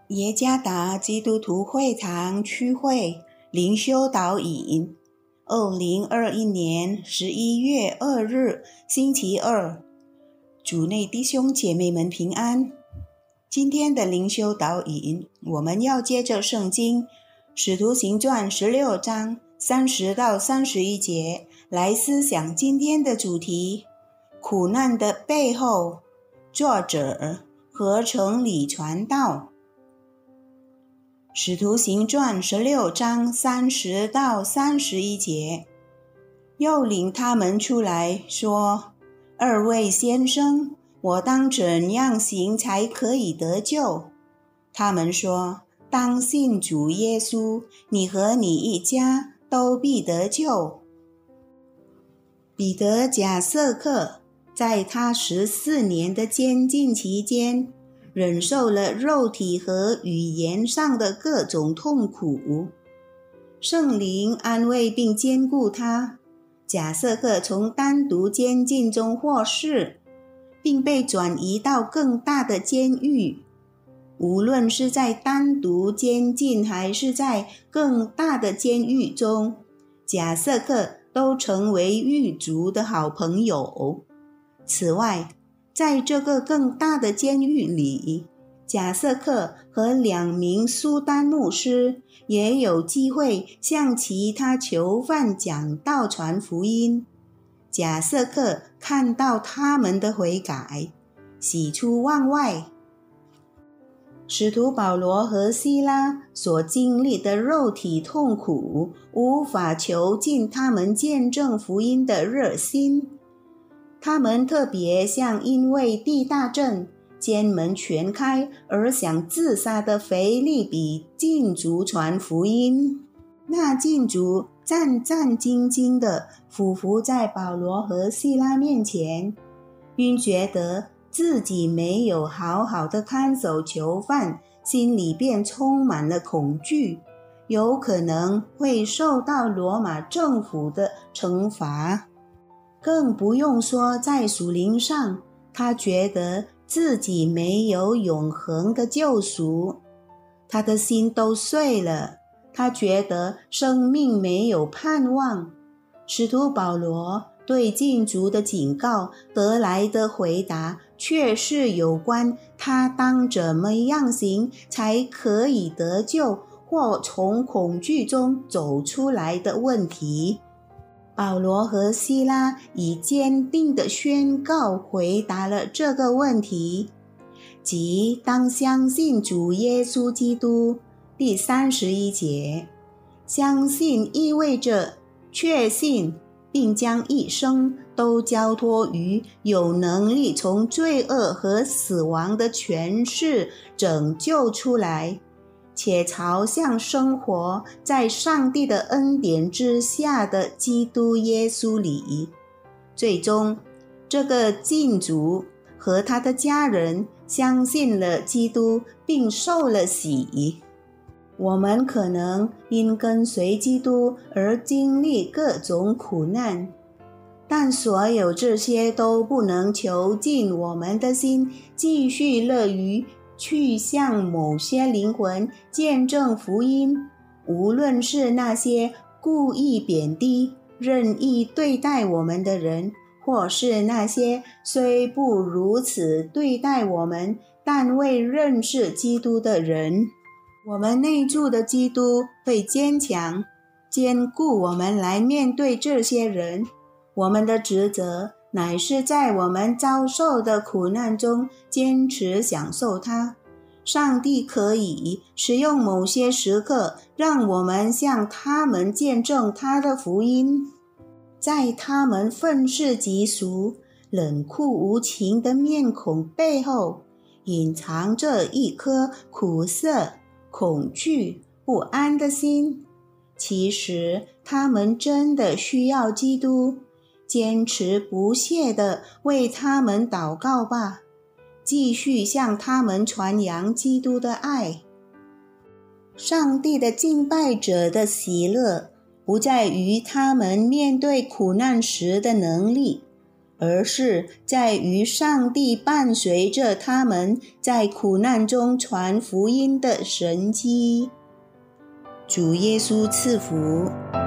耶加达基督徒会堂区会灵修导引，2021年11月2日星期二，主内弟兄姐妹们平安。今天的灵修导引，我们要借着圣经使徒行传16章30到31节来思想今天的主题：苦难的背后。作者合成里传道。使徒行传16章30到31节，又领他们出来说：二位先生，我当怎样行才可以得救？他们说：当信主耶稣，你和你一家都必得救。彼得贾瑟克在他14年的监禁期间，忍受了肉体和语言上的各种痛苦。圣灵安慰并坚固他，贾瑟克从单独监禁中获释，并被转移到更大的监狱。无论是在单独监禁还是在更大的监狱中，贾瑟克都成为狱卒的好朋友。此外，在这个更大的监狱里，贾瑟克和2名苏丹牧师也有机会向其他囚犯讲道传福音。贾瑟克看到他们的悔改，喜出望外。使徒保罗和西拉所经历的肉体痛苦，无法囚禁他们见证福音的热心。他们特别向因为地大震、监门全开而想自杀的腓立比禁足传福音。那禁足战战兢兢地俯伏在保罗和西拉面前，因觉得自己没有好好的看守囚犯，心里便充满了恐惧，有可能会受到罗马政府的惩罚。更不用说在属灵上，他觉得自己没有永恒的救赎，他的心都碎了，他觉得生命没有盼望。使徒保罗对禁足的警告得来的回答，却是有关他当怎么样行才可以得救，或从恐惧中走出来的问题。保罗和西拉以坚定的宣告回答了这个问题，即当相信主耶稣基督。第31节，相信意味着确信，并将一生都交托于有能力从罪恶和死亡的权势拯救出来，且朝向生活在上帝的恩典之下的基督耶稣里。最终，这个禁足和他的家人相信了基督，并受了洗。我们可能因跟随基督而经历各种苦难，但所有这些都不能囚禁我们的心，继续乐于去向某些灵魂见证福音。无论是那些故意贬低、任意对待我们的人，或是那些虽不如此对待我们，但为认识基督的人，我们内住的基督会坚强、坚固我们来面对这些人。我们的职责乃是在我们遭受的苦难中坚持享受它。上帝可以使用某些时刻，让我们向他们见证他的福音。在他们愤世嫉俗、冷酷无情的面孔背后，隐藏着一颗苦涩、恐惧、不安的心。其实他们真的需要基督，坚持不懈地为他们祷告吧，继续向他们传扬基督的爱。上帝的敬拜者的喜乐不在于他们面对苦难时的能力， 而是在于上帝伴随着他们在苦难中传福音的神迹。主耶稣赐福。